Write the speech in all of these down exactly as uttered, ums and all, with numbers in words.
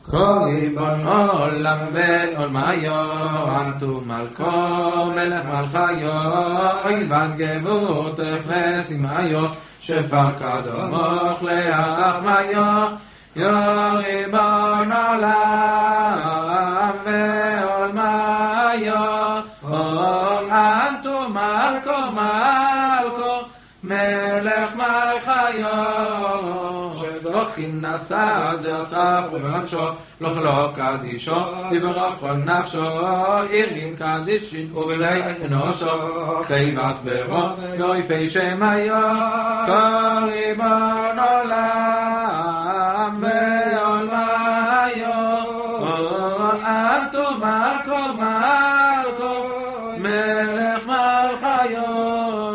כל ריבון עולם ועולמיו, אנטו מלכו מלך מלכיו, אויבן גבורתך ושמחיו, שפקד מוך להחמיו, יא ריבון עולם ועולמיו, אנטו מלכו מלכו מלך מלכיו, שבוכין נשא דרצה ובנפשו, לא קדישו, יברך כל נפשו, ירים קדישין ובני אנושו, חייבס ברו, יויפי שמאיו, כל ריבון עולם ועולמיו, אנטו מלכו מלכו מלך מלכיו,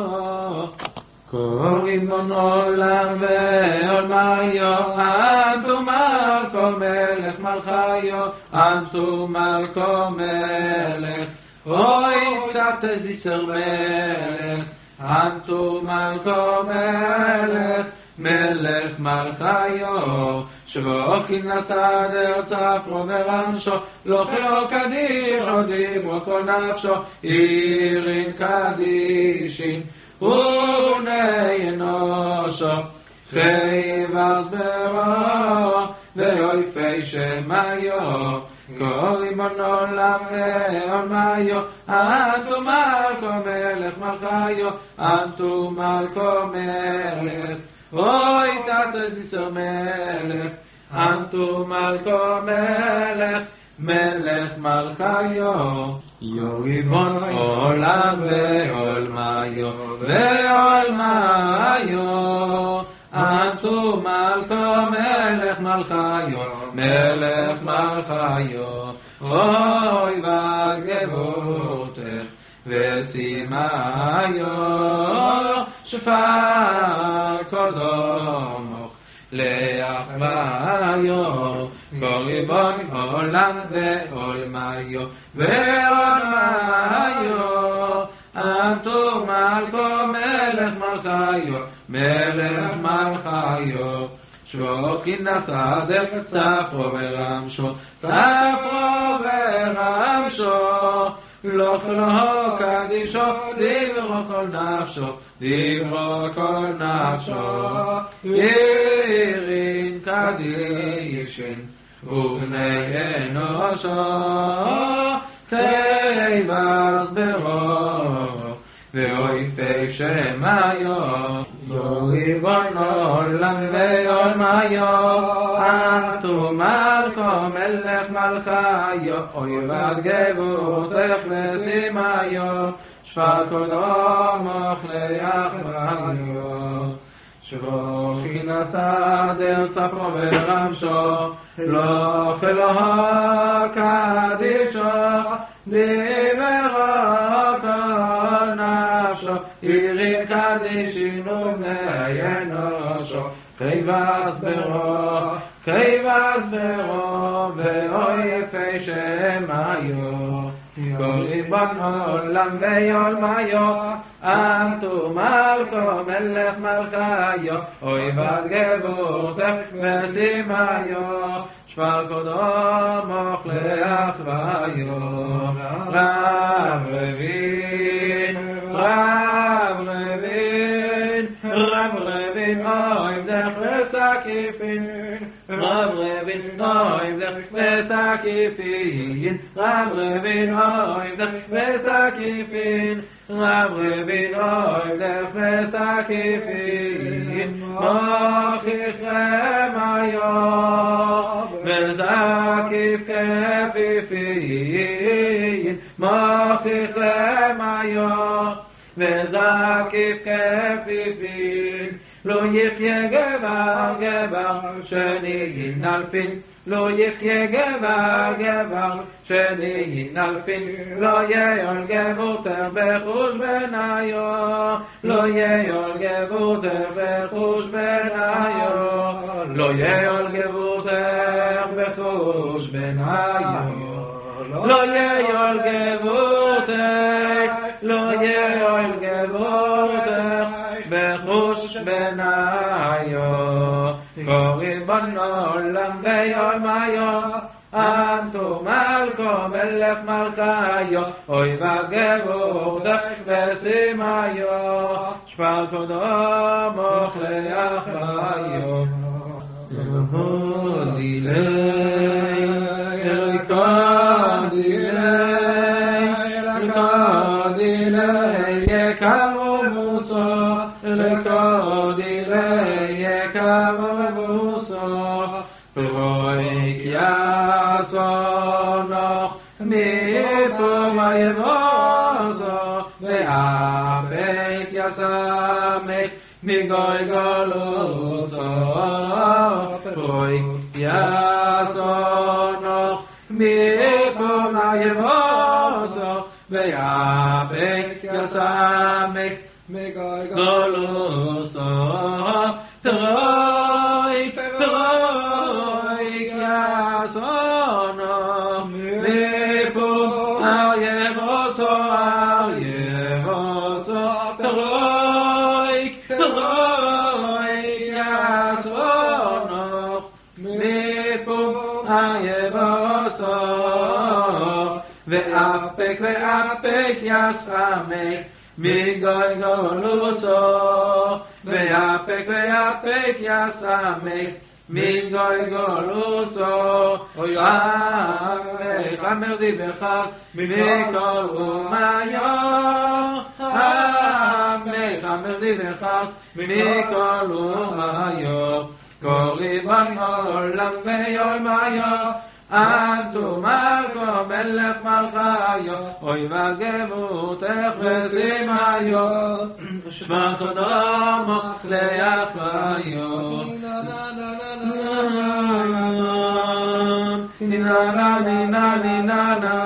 כל ריבון עולם ועולמיו, אנטו מלכו מלך מלכיו, אנטו מלכו מלך, אוי קטז יסר מלך, אנטו מלכו מלך, מלך מלכיו, שבוכין נשא דרצה ובנפשו, לא חילו קדישו, דיברו כל נפשו, ירין קדישין ובני אנושו, חייבס ברו ויויפי שמאיו, כל ריבון עולם ועולמיו, אנטו מלכו מלך מלכיו, אנטו מלכו מלך, אוי תתז יסר מלך, אנטו מלכו מלך, מלך מלכיו, יא ריבון עולם ועולמיו ועולמיו, אנטו מלכו מלך מלכיו, מלך מלכיו, אוי וגבורתך ושמחיו, שפק קודמוך להחמיו, כל ריבון עולם ועולמיו ועולמיו, אנטו מלכו מלך מלכיו, מלך מלכיו, שבוכין נשא דרצה ורמשו, צפרו ורמשו, לא חילו קדישו, דיברו כל נפשו, דיברו כל נפשו, ירין קדישין ובני אנושו, חייבס ברו ואויפי שמאיו, יא ריבון עולם ועולמיו, אנטו מלכו מלך מלכיו, אויבד גבורתך ושמחיו, שפק קודמוך להחמיו, שבוכין נשא דרצה ובנפשו, לא חילו קדישו, דיברו כל נפשו, ירין קדישין ובני אנושו, חייבס ברו, חייבס ברו ואויפי שמאיו, כל ריבון עולם ועולמיו, אנטו מלכו מלך מלכיו, אויבד גבורתך ושמחיו, שפק קודמוך להחמיו, רב רבין, רב רבין, רב רבין, עבדך וסקיפין, רב רבין, עבדך וסקיפין, רב רבין, עבדך וסקיפין, רב רבין, עבדך וסקיפין, מוכיחכם היום וזקיף כפיפין, מוכיחכם היום וזקיף כפיפין, לא יחיה גבר גבר שני ינלפין, לא יחיה גבר גבר שני ינלפין, לא יעל גבורתך בחוש בניו, לא יעל גבורתך בחוש בניו, לא יעל גבורתך בחוש בניו, לא יעל גבורתך, לא יעל גבורתך בחוש בניו, כל ריבון ריבון עולם ויעלמיו אנטו מלכו מלך מלכיו אוי וגבורתך ושימיו שפר כבודו מוכלי אחריו דילי אליקה דילי אליקה דילי יקמו מוסו אליקה דילי יקמו מוסו פרויק יסונוך מפום היבוסו ואפק יסמך מגוי גולוסו פרויק יסונוך מפום היבוסו ואפק יסמך מגוי גולוסו פרויק פרויק יסונוך מפום היבוסו היבוסו פרויק פרויק יסונוך מפום היבוסו ואפק ואפק יסמך מגוי גולוסו ואפק ואפק יסמך מגוי גולוסו אוי אבך אמרתי בכך מכל אומיו אבך אמרתי בכך מכל אומיו כל ריבון עולם ויעלמיו אנטו מלכו מלך מלכיו אוי וגבורתך ושימיו שפר כבודו מוכלי אחריו נינה נה נינה נינה נה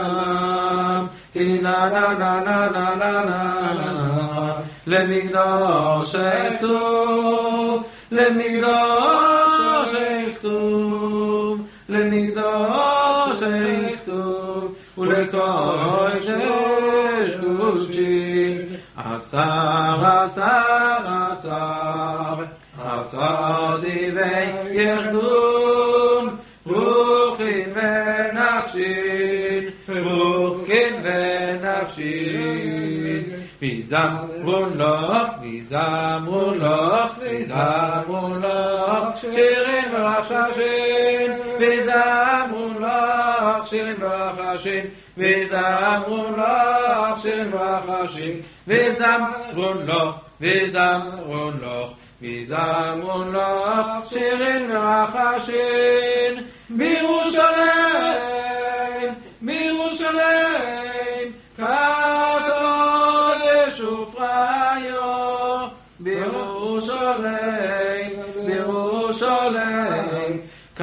נינה נה נה נה נה נה נה למקדוש כתוב למקדוש כתוב למקדוש כתוב ולקודש קודשי עשר עשר עשר עשר דיבי ירדון רוחין ונפשין רוחין ונפשין ויזמרו לך ויזמרו לך ויזמרו לך שירים ורחשים ויזמרו לך שירים ורחשים ויזמרו לך שירים ורחשים ויזמרו לך ויזמרו לך ויזמרו לך שירים ורחשים בירושלים בירושלים קדוש ופראיו בירושלים בירושלים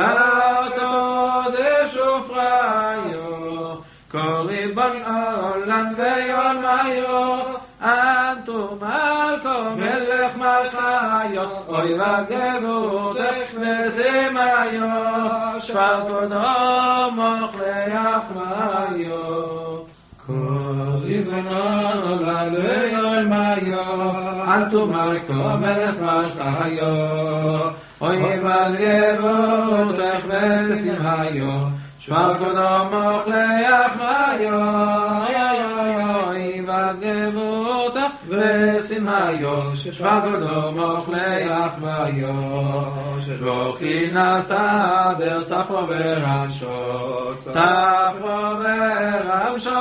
קדוש ופראיו כל ריבון עולם ויעלמיו אנטו מלכו מלך מלכיו אוי וגבורתך ושימיו שפר כבודו מוכלי אחריו כל ריבון עולם ויעלמיו אנטו מלכו מלך מלכיו אוי וגבורתך ושימיו שפר כבודו מוכלי אחריו אוי וגבורתך ושימיו שפר כבודו מוכלי אחריו רוחי נסדר צפו ורמשו צפו ורמשו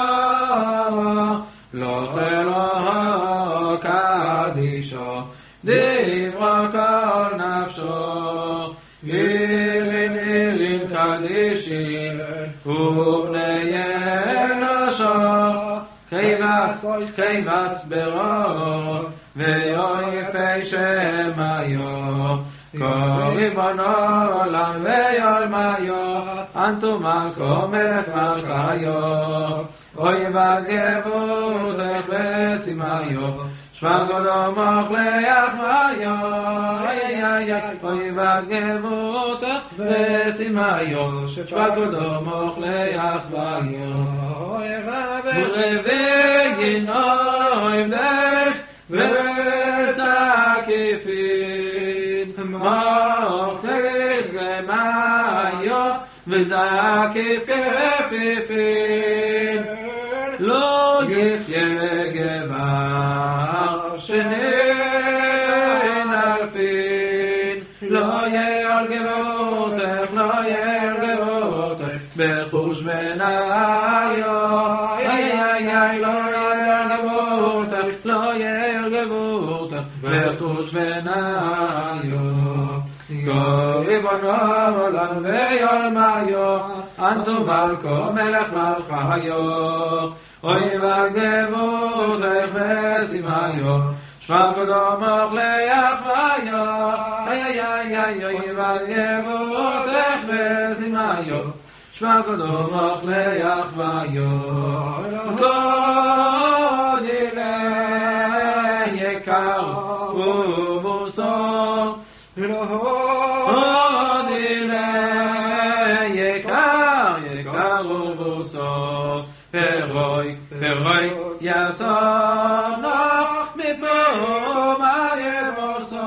לא אלוהו קדישו דברו כל נפשו עירין עירין קדישין ובני אנושו כבש כבש ברו ויופי שמיו כל ריבון עולם ויעלמיו אנטו מלכו מלך מלכיו אוי וגבורתך ושימיו שפר כבודו מוכלי אחריו אוי וגבורתך ושימיו שפר כבודו מוכלי אחריו ורביין אוהבך וצקיפין מוכלי וזקף כפיפים, לא יחיה גבר שנין אלפין, לא יהיה על גבורתך, לא יהיה על גבורתך, בחוש בניו, איי איי איי, לא יהיה על גבורתך, לא יהיה על גבורתך, בחוש בניו. ריבונו עולם ויולמיו, אנטו מלכו מלך מלכיו, אוי וגבורתך ושמחיו, שמע קדומך ליחוויו, איי איי איי אוי וגבורתך ושמחיו, שמע קדומך ליחוויו, כל דיני יקר ומוסר, עוד אלה יקר, יקר ובוסו, פרוי, פרוי יסונך מפה יבוסו,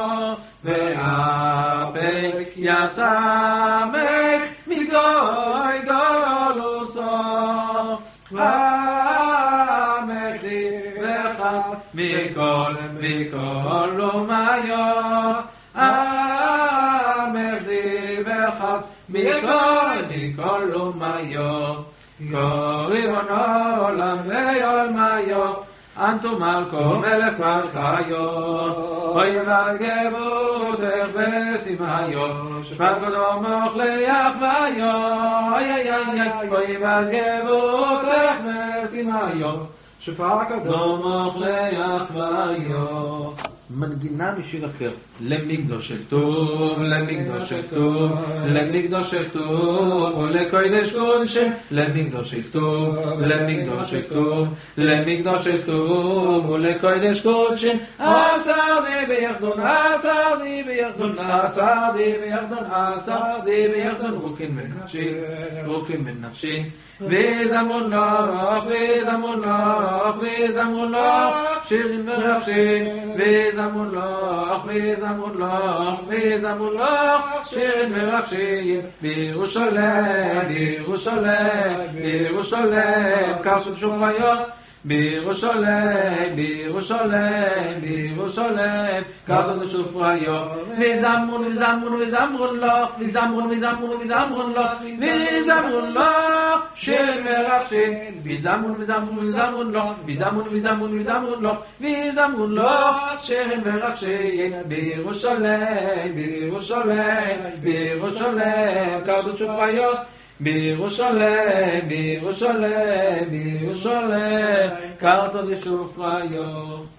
ואפק יסמך מגוי גולוסו, המחי וחס מכל, מכל אומיו, המחי וחס מכל, מכל אומיו, ריבונו עולם ויולמיו, אנטו מלכו מלך מלכיו, אוי וגבורתך ושמחיו, שמע קדומך ליחוויו, איי איי איי אוי וגבורתך ושמחיו, שמע קדומך ליחוויו. מנגינה משיר אחר, למקדוש טוב, למקדוש טוב, למקדוש טוב, ולקודש קודשם, למקדוש טוב, למקדוש טוב, למקדוש טוב, ולקודש קודשם, עשר די ביחדון, עשר די ביחדון, עשר די ביחדון, עשר די ביחדון, רוקים בנפשי, רוקים בנפשי, וזמון לך, וזמון לך, וזמון לך, שירים ורחשים, וזמון לך, וזמון לך, וזמון לך, שירים ורחשים, בירושלים, בירושלים, בירושלים, קרשו שומריות, בירושלים, בירושלים, בירושלים, קרשו שומריות, וזמון, וזמון, וזמון לך, וזמון, וזמון, וזמון לך, וזמון לך, שירים ורחשים, וזמון, וזמון, וזמון לך, וזמון, וזמון, וזמון לך, וזמון לך, שירים ורחשים, בירושלים, בירושלים, בירושלים, קרשו שומריות, בירושלים, בירושלים, בירושלים, קרתו דשופריו.